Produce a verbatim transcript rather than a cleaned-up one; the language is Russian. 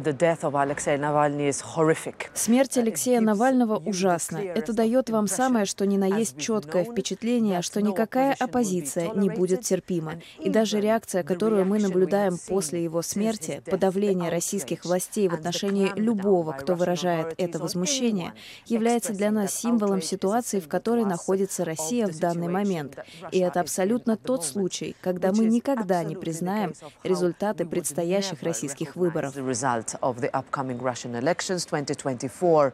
Смерть Алексея Навального ужасна. Это дает вам самое, что ни на есть четкое впечатление, что никакая оппозиция не будет терпима. И даже реакция, которую мы наблюдаем после его смерти, подавление российских властей в отношении любого, кто выражает это возмущение, является для нас символом ситуации, в которой находится Россия в данный момент. И это абсолютно тот случай, когда мы никогда не признаем результаты предстоящих российских выборов.